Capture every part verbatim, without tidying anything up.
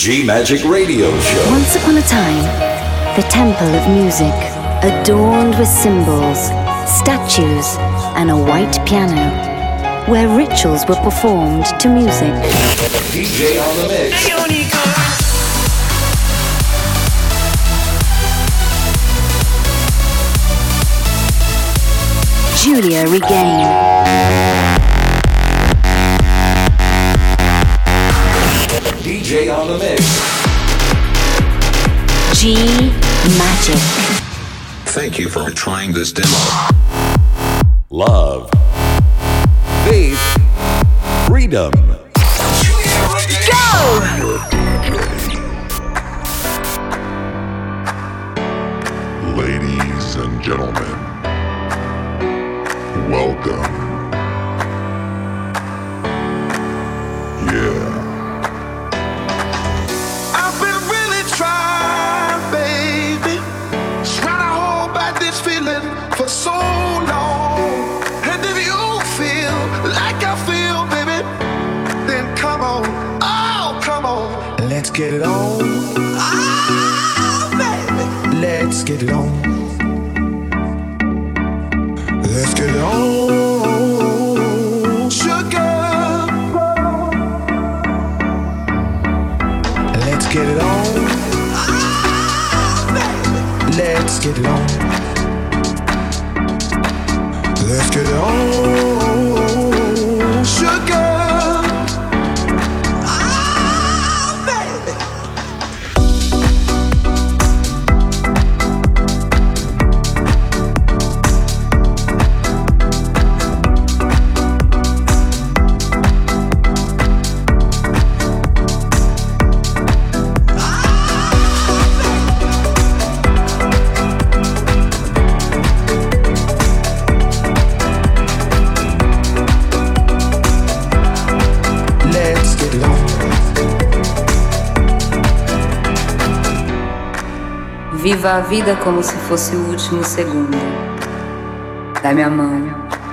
G-Magic Radio Show. Once upon a time, the temple of music, adorned with symbols, statues, and a white piano, where rituals were performed to music. D J on the mix. Giulia Regain. D J on the mix. G-Magic. Thank you for trying this demo. Love. Faith. Freedom. Go! Ladies and gentlemen, welcome. Yeah. I've been really trying, baby, trying to hold back this feeling for so long. And if you feel like I feel, baby, then come on, oh, come on, let's get it on. Ah, baby, let's get it on. Let's get it on, sugar. Let's get it on. Ah, baby. Let's get it on. Let's get it on, sugar. Ah, baby. Viva a vida como se fosse o último segundo. Dá-me a mão.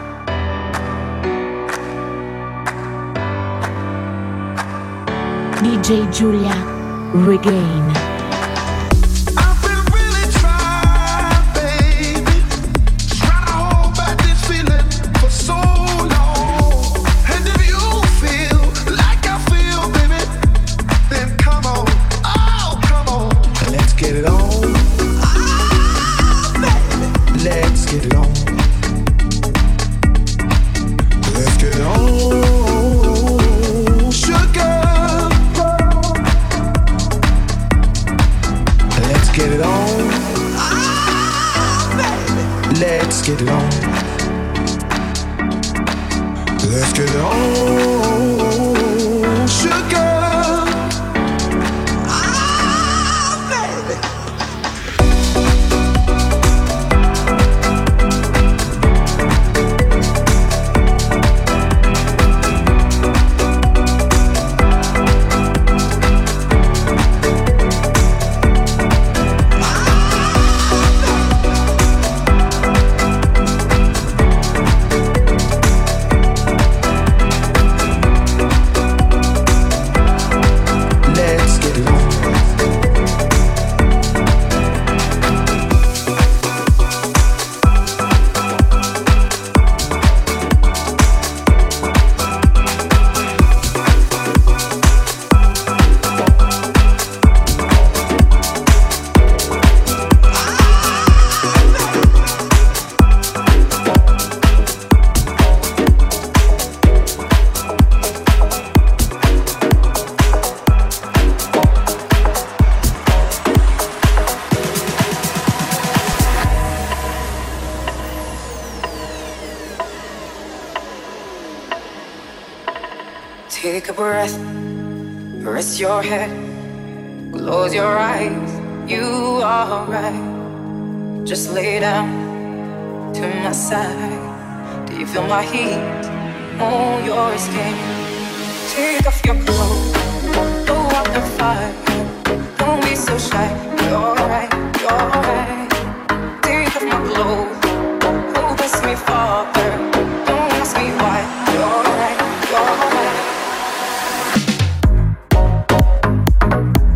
D J Giulia Regain. Take a breath, rest your head, close your eyes, you are right. Just lay down to my side. Do you feel my heat on your skin? Take off your clothes, go out and fight. Don't be so shy, you're right, you're right. Take off my clothes, oh bless me Father. Don't ask me why, you're right, you're right.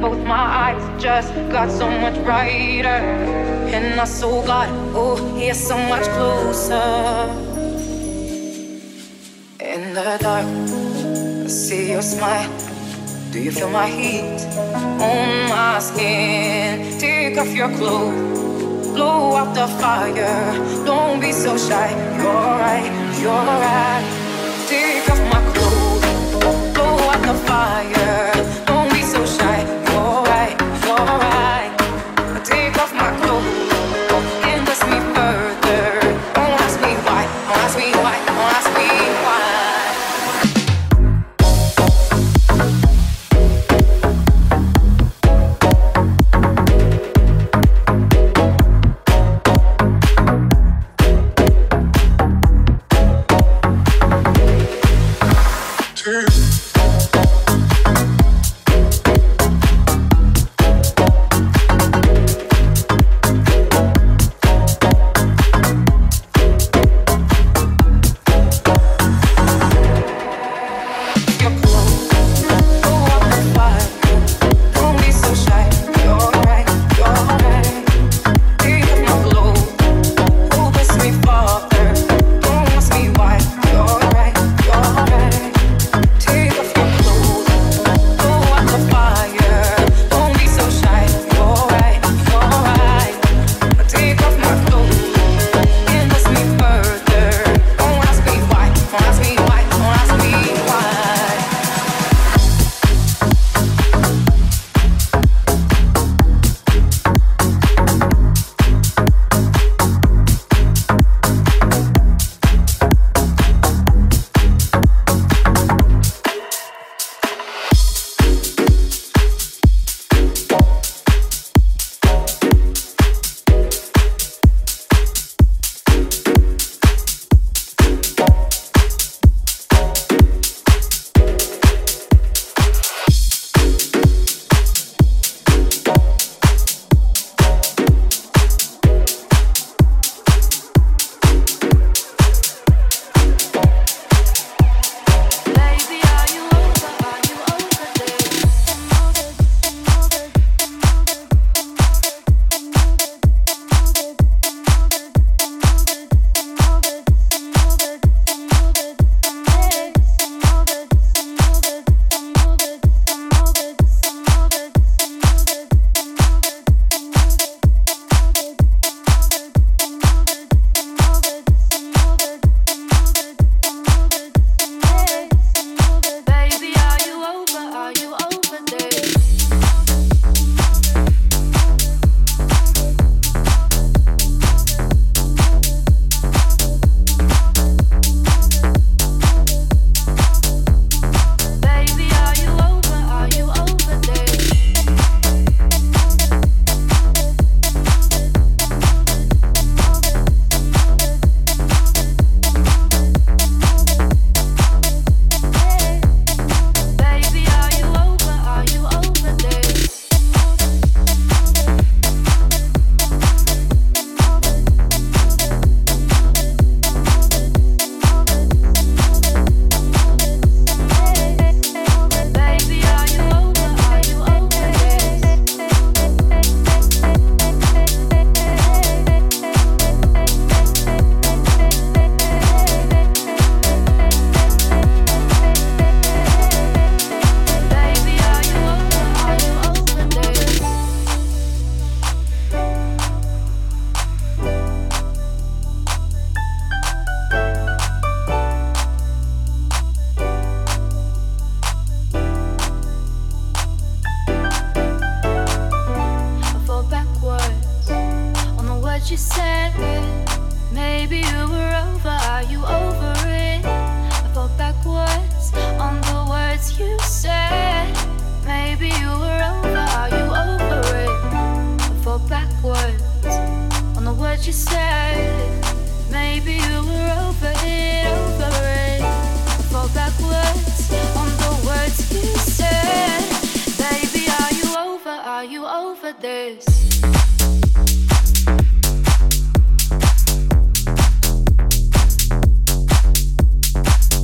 both my eyes just got so much brighter. And I saw God, oh, he's so much closer. In the dark, I see your smile. Do you feel my heat on my skin? Take off your clothes, blow out the fire. Don't be so shy, you're right, you're right. Take off my clothes, blow out the fire. Don't be so shy, you're right, you're right. Take off my clothes and touch me further. Don't ask me why, don't ask me why, don't ask me why.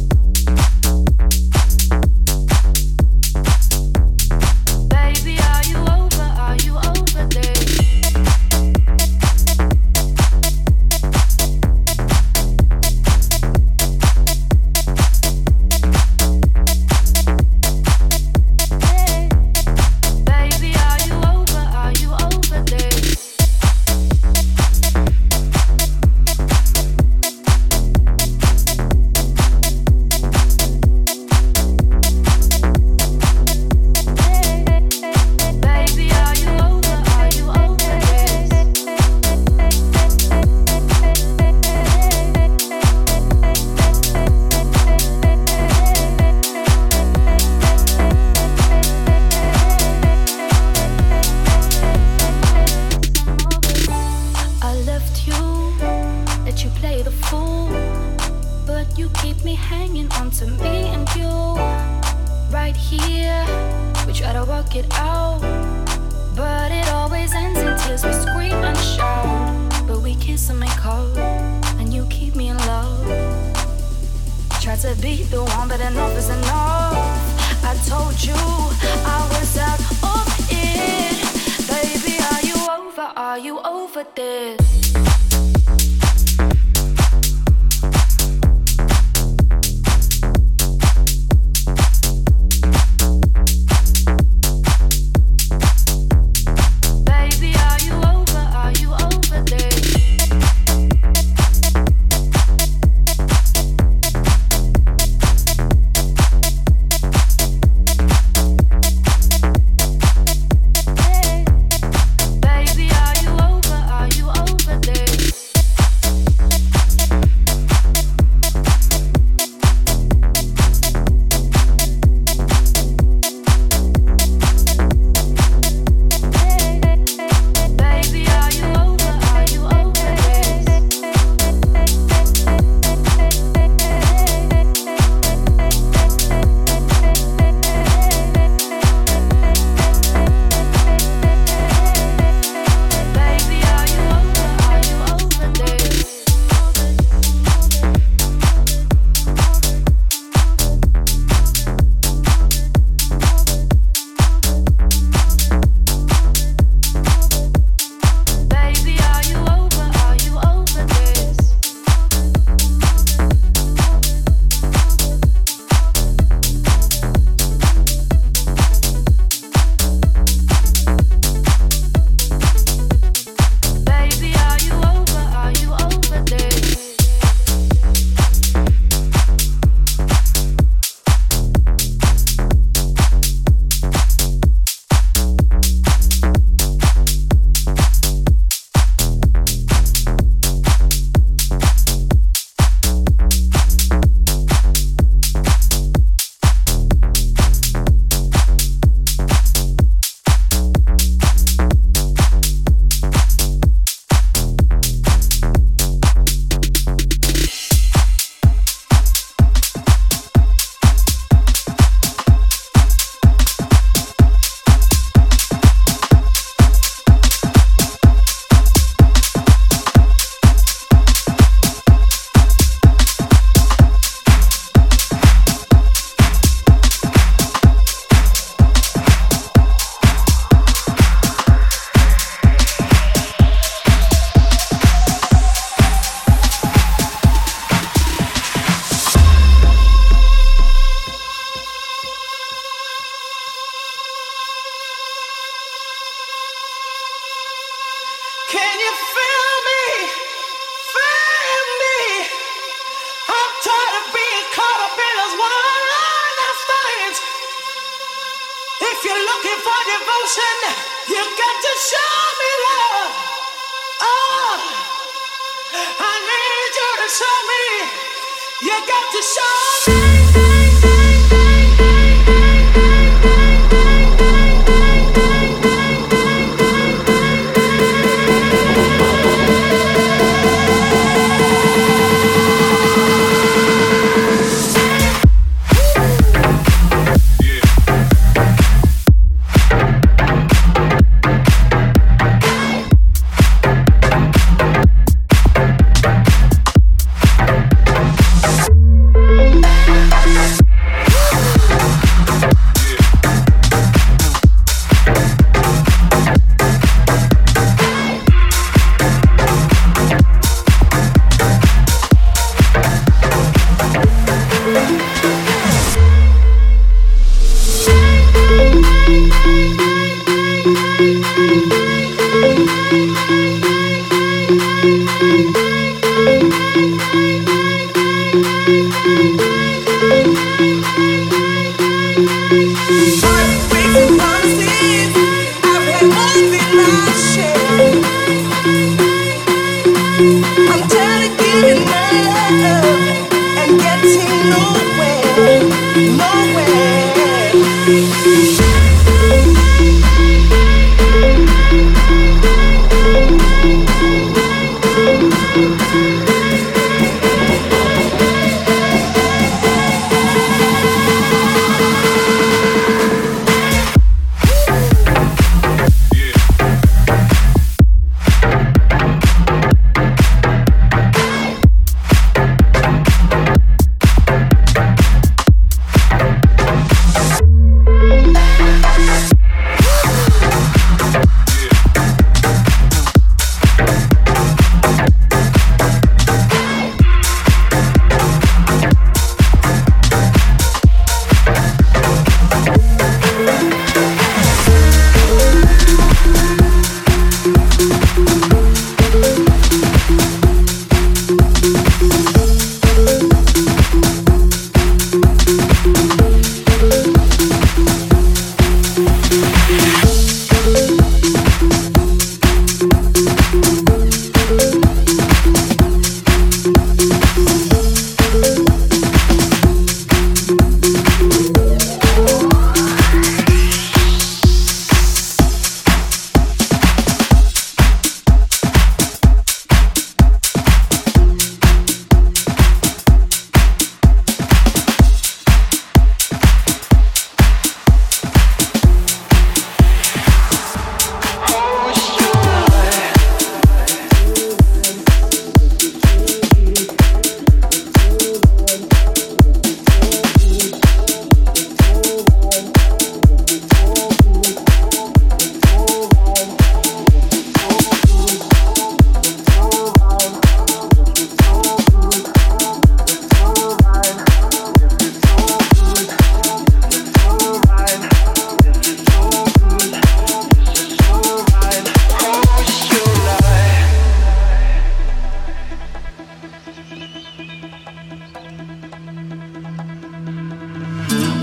Baby, are you me hanging on to me and you. Right here, we try to work it out, but it always ends in tears. We scream and shout, but we kiss and make up, and you keep me in love. Try to be the one, but enough is enough. I told you I was out of it. Baby, are you over? Are you over this?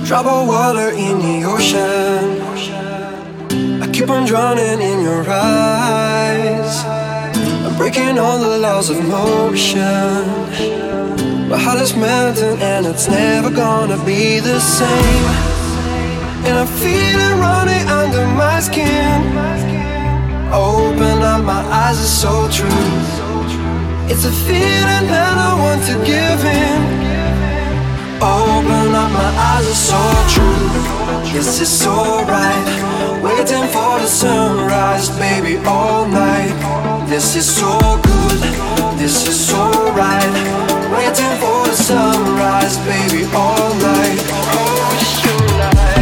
drop of water in the ocean. I keep on drowning in your eyes. I'm breaking all the laws of motion. My heart is melting and it's never gonna be the same. And I feel it running under my skin. Open up my eyes, it's so true. It's a feeling that I want to give in. Open up my eyes, it's so true. Yes, it's so right. Waiting for the sunrise, baby, all night. This is so good, this is so right. Waiting for the sunrise, baby, all night. Oh, tonight.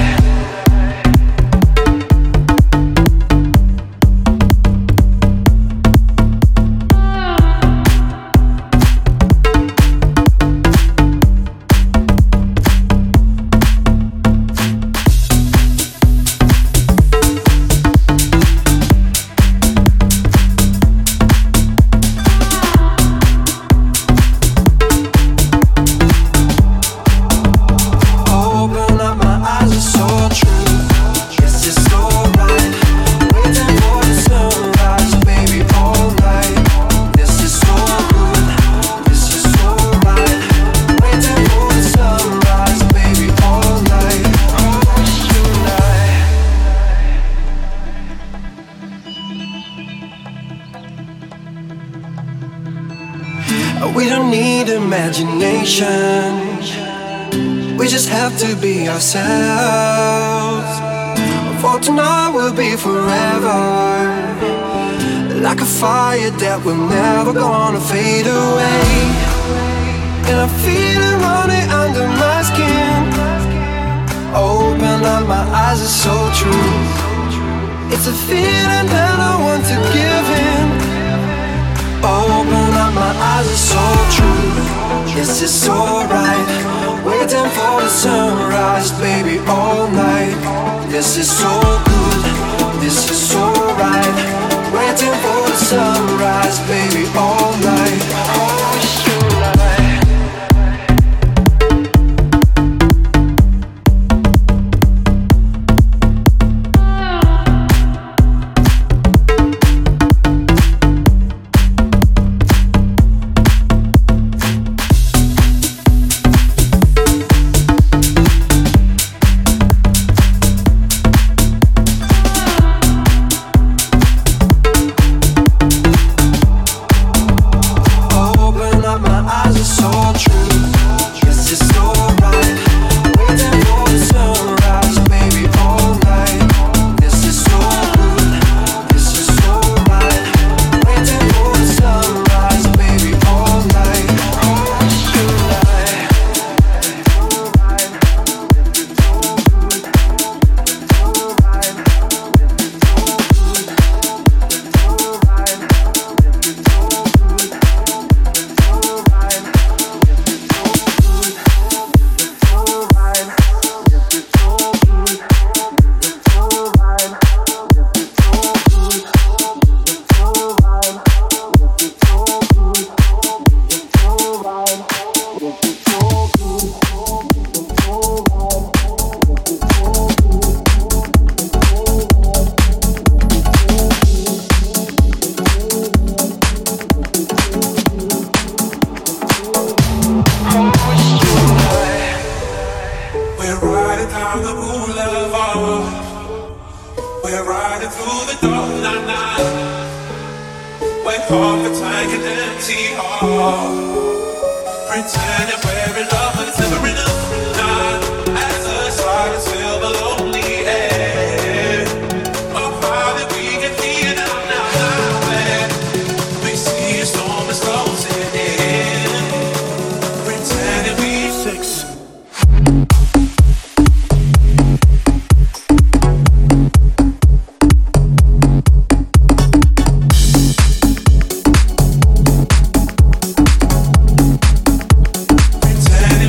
We don't need imagination. We just have to be ourselves. For tonight will be forever. Like a fire that we're never gonna fade away. And I feel it running under my skin. Open up my eyes, it's so true. It's a feeling that I want to give in. Open up my eyes, it's so true. Yes, it's so right. Waiting for the sunrise, baby, all night. This is so good, this is so right. Waiting for the sunrise, baby, all night. Oh, tonight. Pretend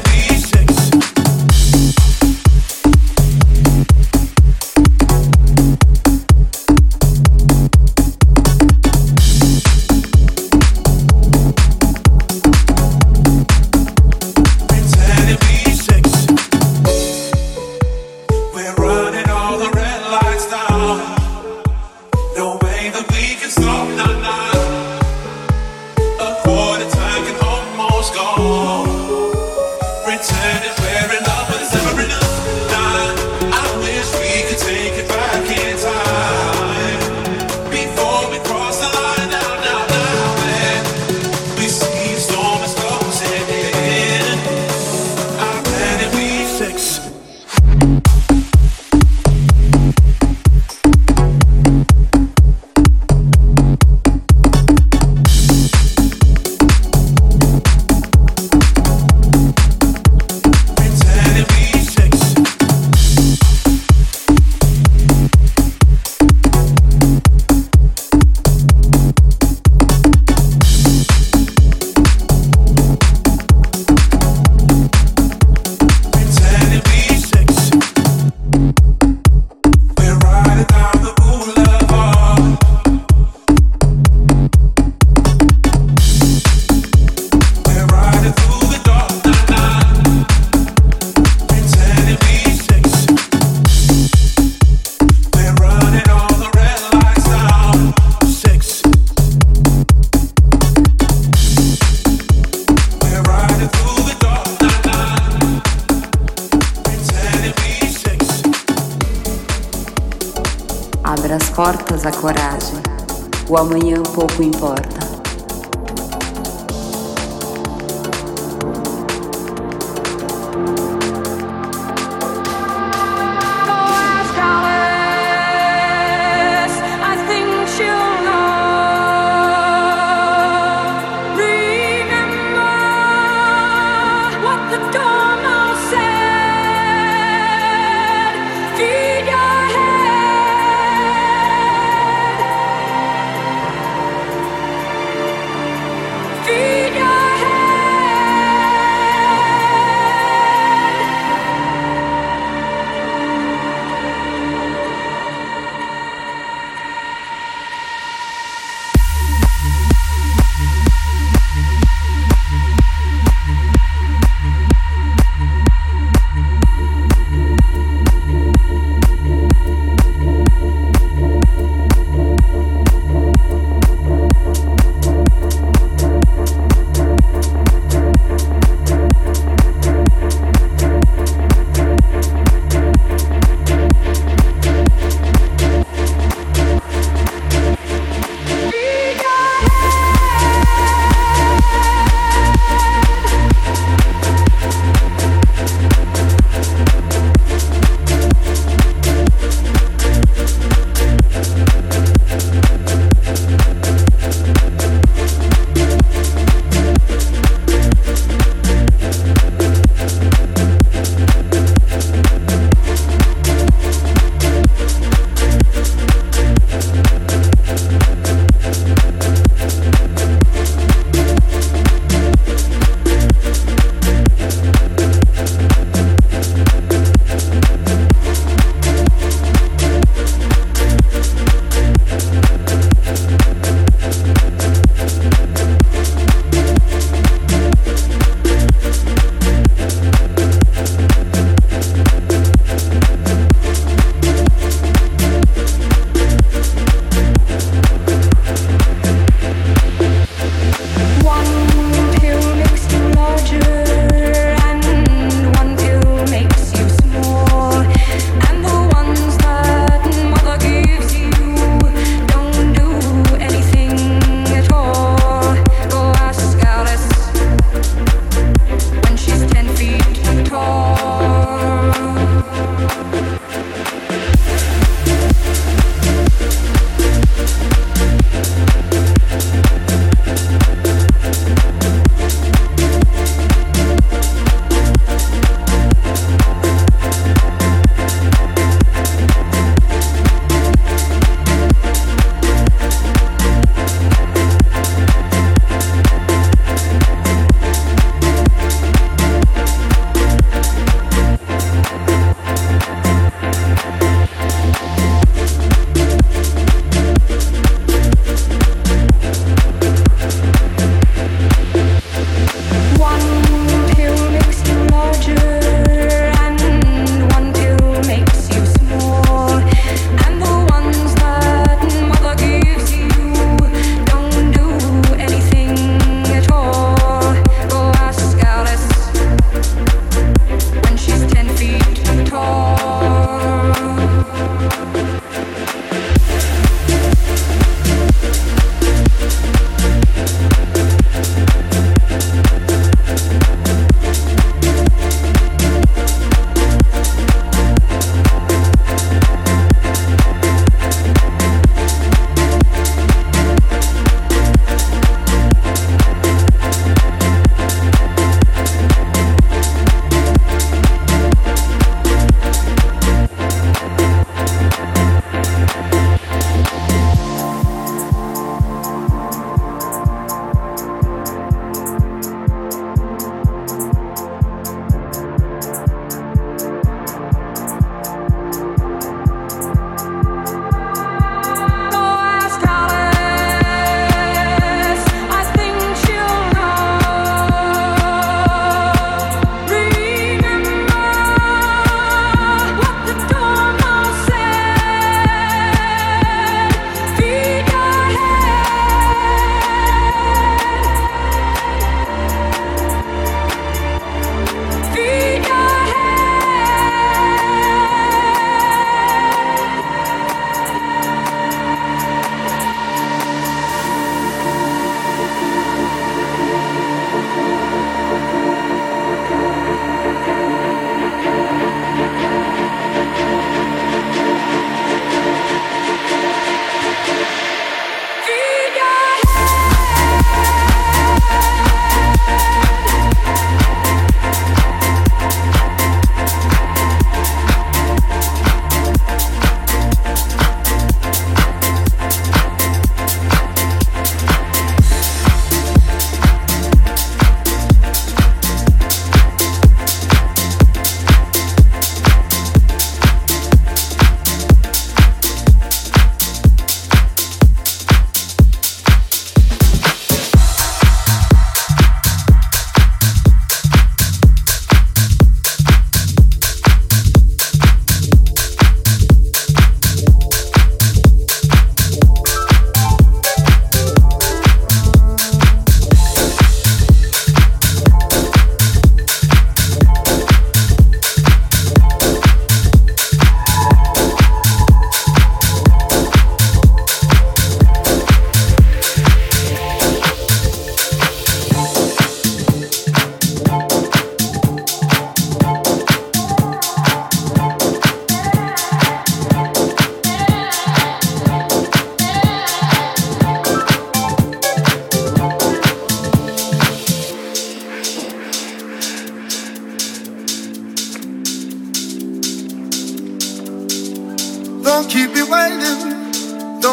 nossa coragem. O amanhã pouco importa.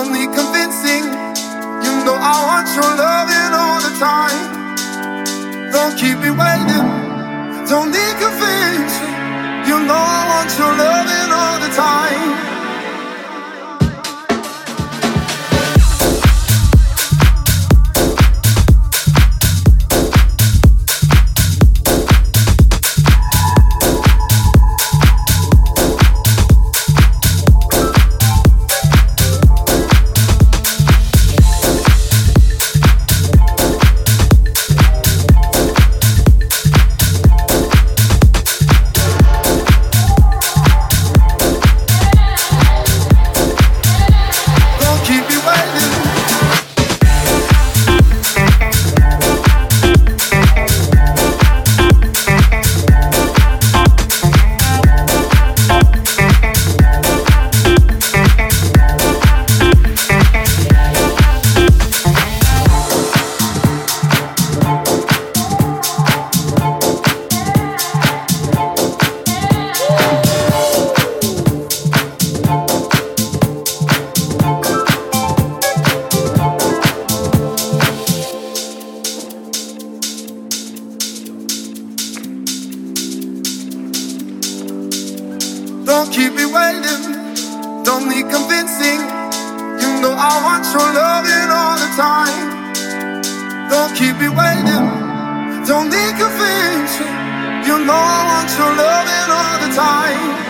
don't need convincing. You know I want your loving all the time. Don't keep me waiting. Don't need convincing. You know I want your loving all the time. Don't keep me waiting, don't need convincing. You know I want your loving all the time. Don't keep me waiting, don't need convincing. You know I want your loving all the time.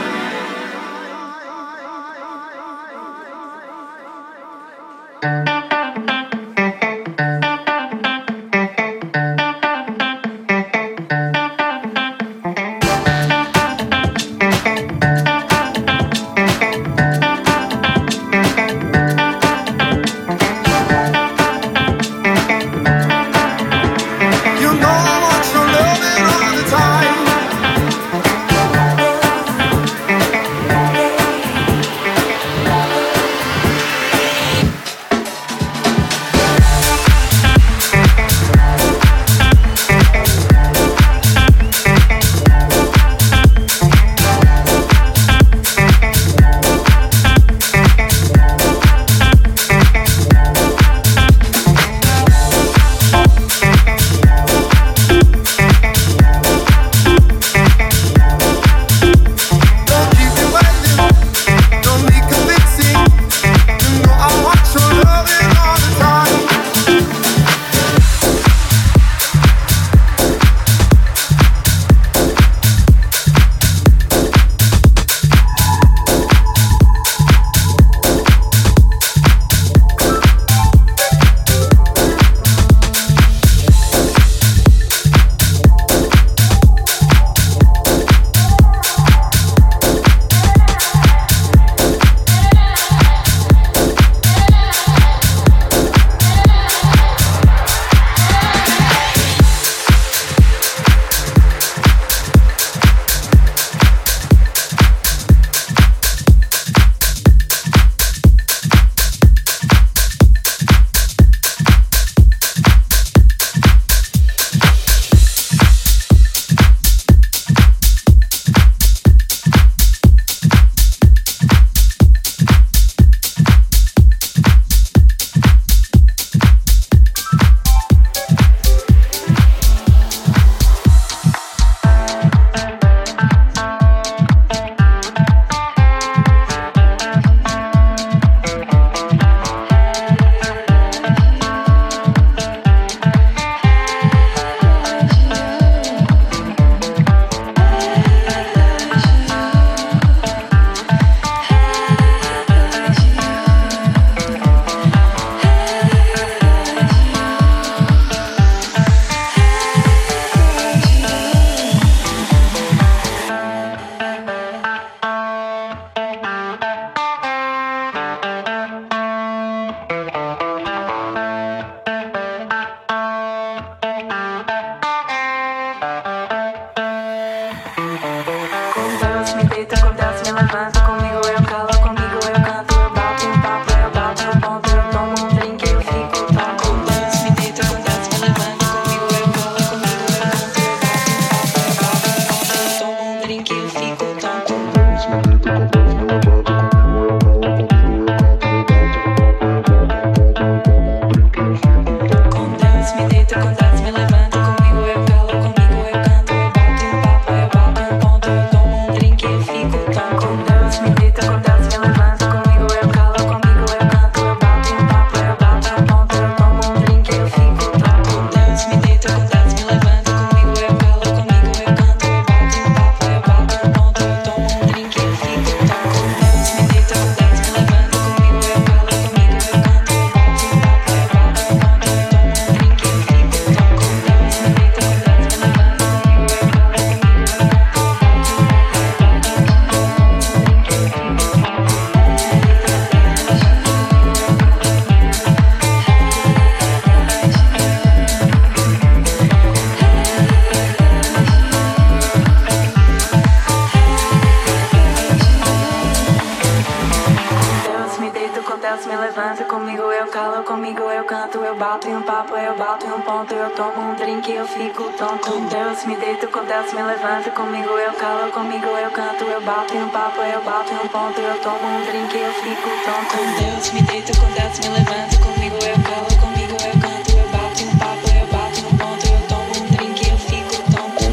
comigo eu calo, comigo eu canto, eu bato em um papo, eu bato em um ponto, eu tomo um drink e eu fico tonto. Com Deus me deito, com Deus me levanto, comigo eu calo, comigo eu canto, eu bato em um papo, eu bato em um ponto, eu tomo um drink e eu fico tonto. Com Deus me deito, com Deus me levanto, comigo eu calo, comigo eu canto, eu bato em um papo, eu bato em um ponto, eu tomo um drink e eu fico tonto.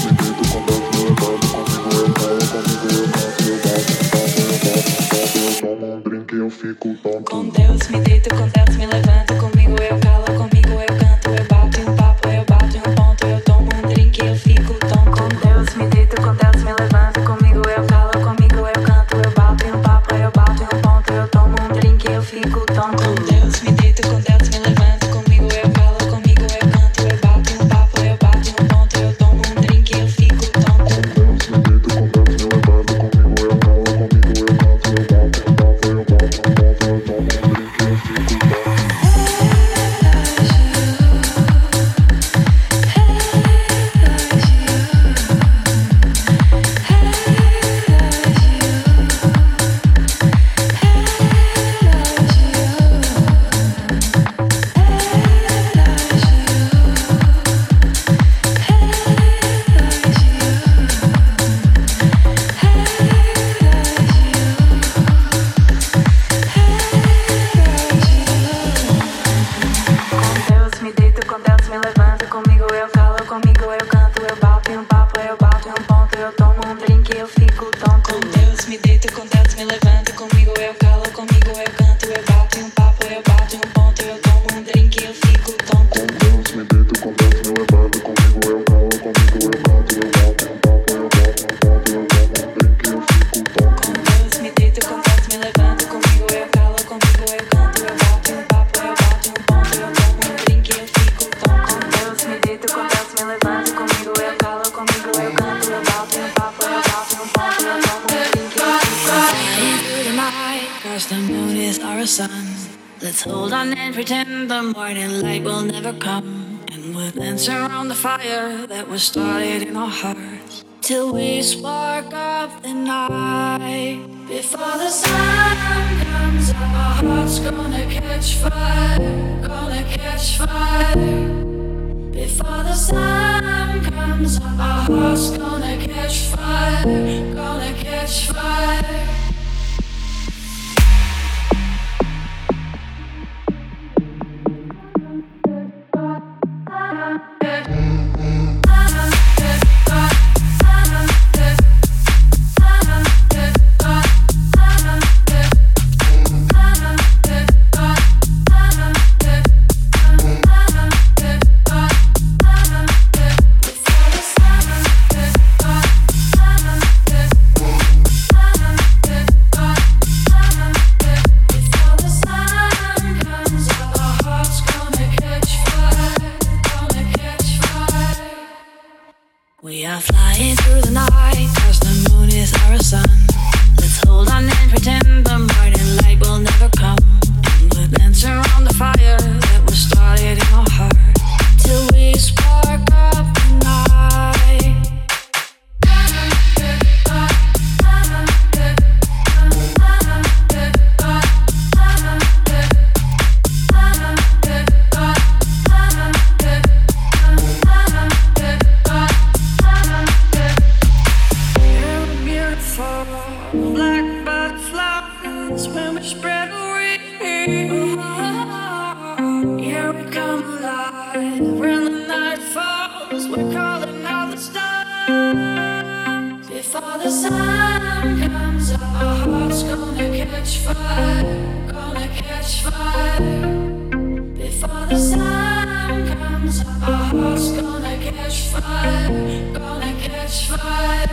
Com Deus me deito, com Deus me levanto, comigo eu calo, comigo eu canto, eu bato em um papo, eu bato em um ponto, eu tomo um drink e eu fico tonto. Com Deus me deito, com Deus me levanto, comigo eu calo, comigo eu canto, eu bato em um papo, eu bato em um ponto, eu tomo um drink e eu fico tonto. Com Deus me deito, com Deus me levanto, comigo eu calo, comigo eu canto, eu bato em um papo, eu bato em um ponto, eu tomo um drink e eu fico tonto. Com Deus me deito, com Deus me levanto, comigo eu calo, comigo eu canto, eu bato em um papo, eu bato em um ponto, eu tomo um drink e eu fico tonto. Let's hold on and pretend the morning light will never come, and we'll dance around the fire that was started in our hearts till we spark up the night. Before the sun comes up, our heart's gonna catch fire, gonna catch fire. Before the sun comes up, our heart's gonna catch fire, gonna catch fire. We are flying through the night, cause the moon is our sun. Let's hold on and pretend the morning light will never come, and we'll dance around the fire that was started in our heart till we spark up the night. Black butterflies when we spread the wings. Yeah, we come alive when the night falls. We're calling out the stars. Before the sun comes up, our heart's gonna catch fire, gonna catch fire. Before the sun comes up, our heart's gonna catch fire, gonna catch fire.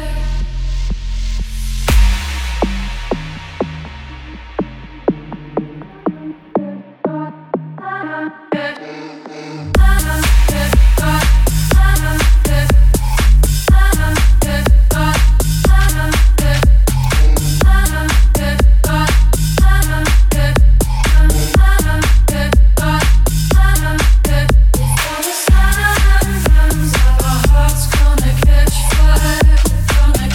Gonna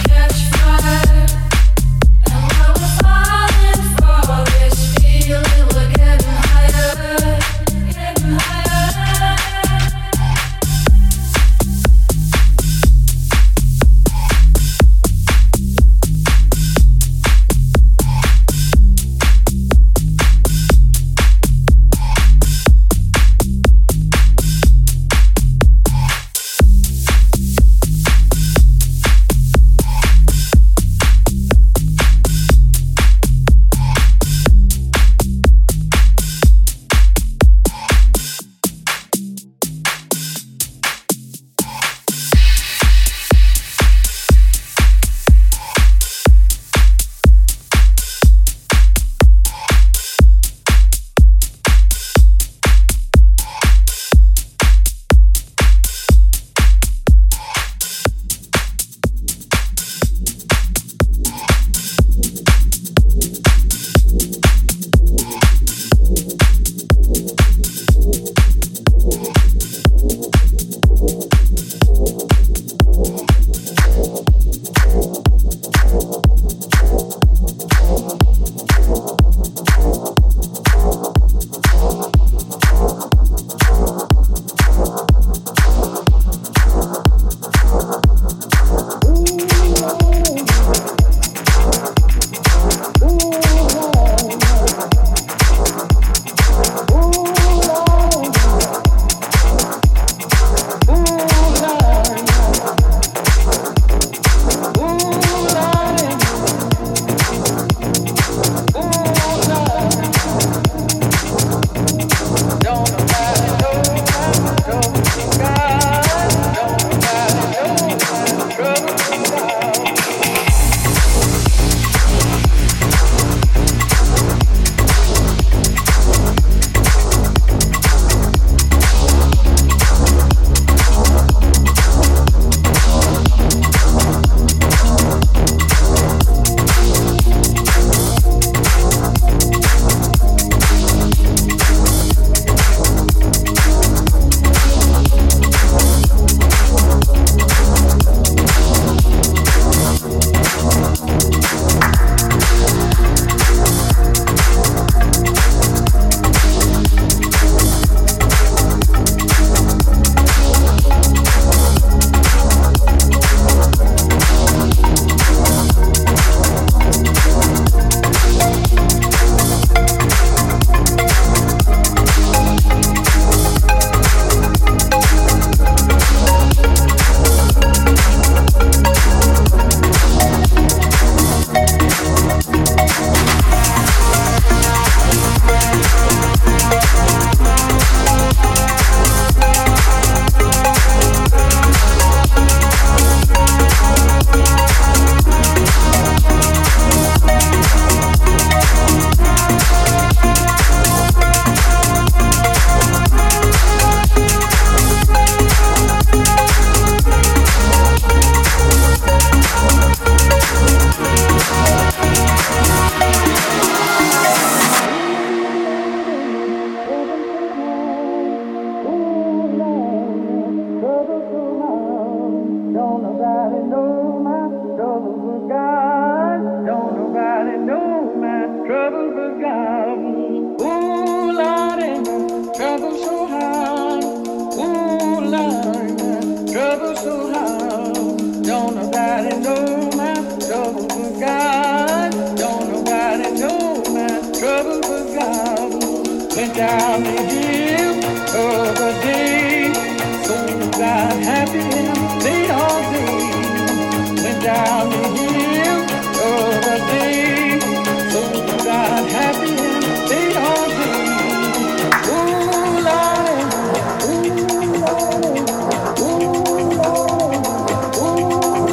went down the hill of a day. So got happy and played all day. Went down the hill of a day. So got happy and played all day. Ooh, Lordy, ooh, Lordy, ooh, Lordy, ooh,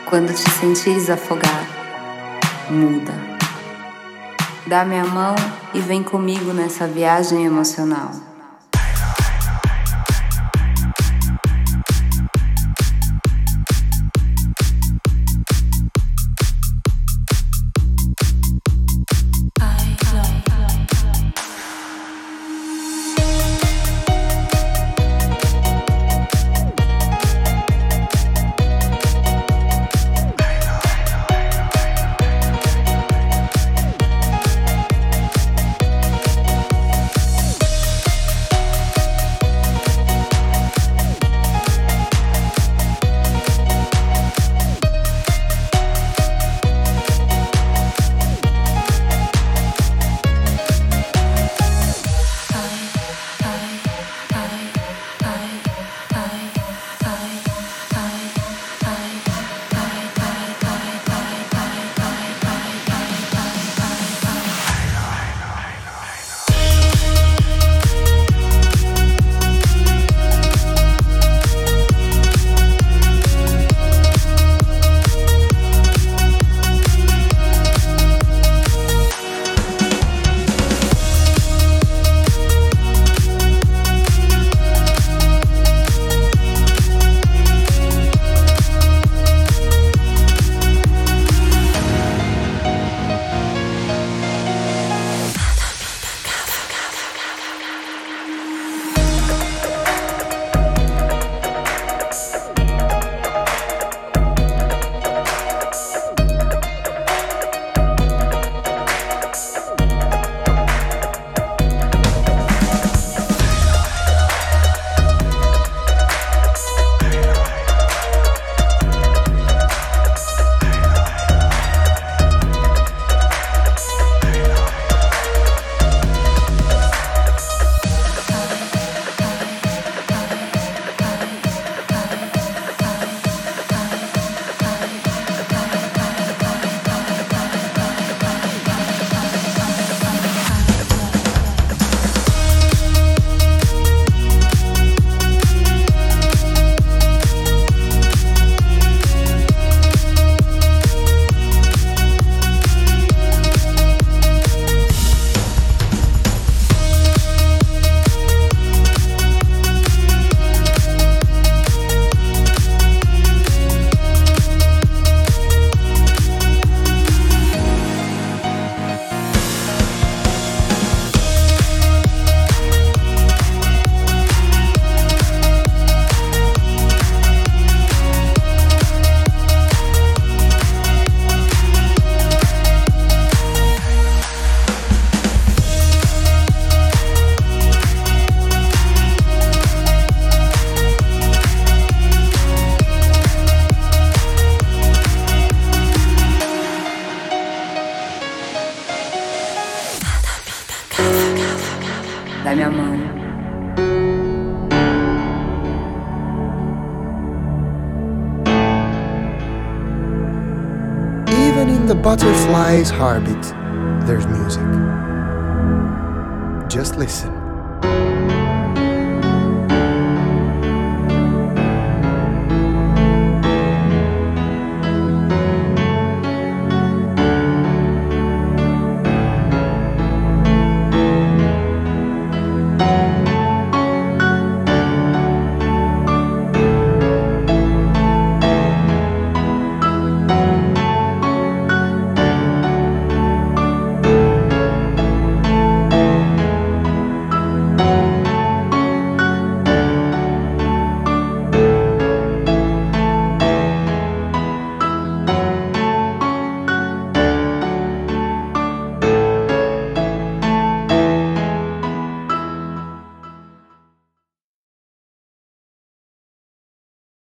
Quando te sentires afogar, muda. Dá minha mão e vem comigo nessa viagem emocional. Dá minha mão. Even in the butterfly's heartbeat, there's music. Just listen.